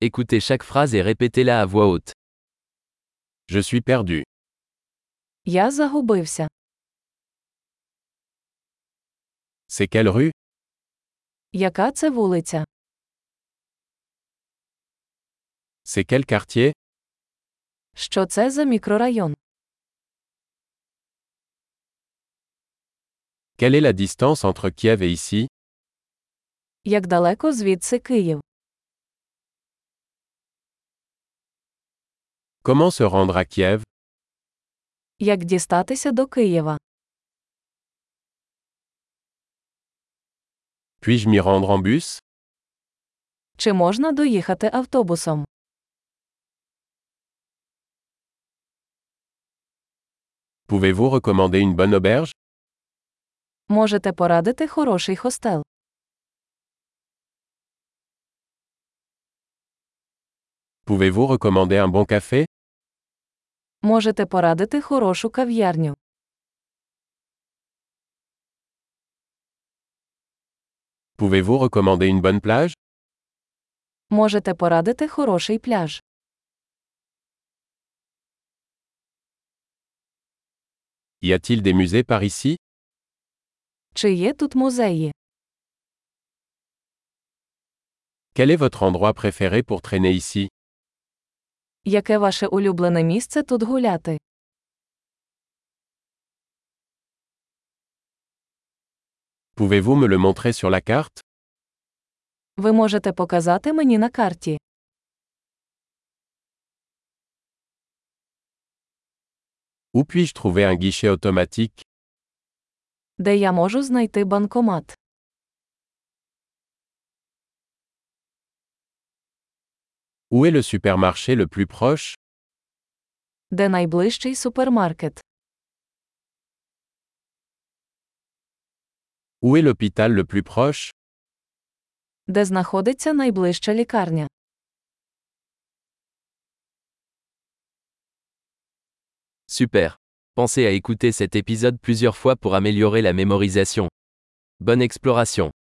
Écoutez chaque phrase et répétez-la à voix haute. Je suis perdu. Я загубився. C'est quelle rue? Яка це вулиця? C'est quel quartier? Що це за мікрорайон? Quelle est la distance entre Kiev et ici? Як далеко звідси Київ? Comment se rendre à Kiev? Як дістатися до Києва? Puis-je m'y rendre en bus? Чи можна доїхати автобусом? Pouvez-vous recommander une bonne auberge? Можете порадити хороший хостел? Pouvez-vous recommander un bon café? Можете порадити хорошу кав'ярню? Pouvez-vous recommander une bonne plage? Можете порадити хороший пляж? Y a-t-il des musées par ici? Чи є тут музеї? Quel est votre endroit préféré pour traîner ici? Яке ваше улюблене місце тут гуляти? Pouvez-vous me le montrer sur la carte? Ви можете показати мені на карті. Où puis-je trouver un guichet automatique? Де я можу знайти банкомат? Où est le supermarché le plus proche? Де найближчий супермаркет? Où est l'hôpital le plus proche? Де знаходиться найближча лікарня? Super. Pensez à écouter cet épisode plusieurs fois pour améliorer la mémorisation. Bonne exploration.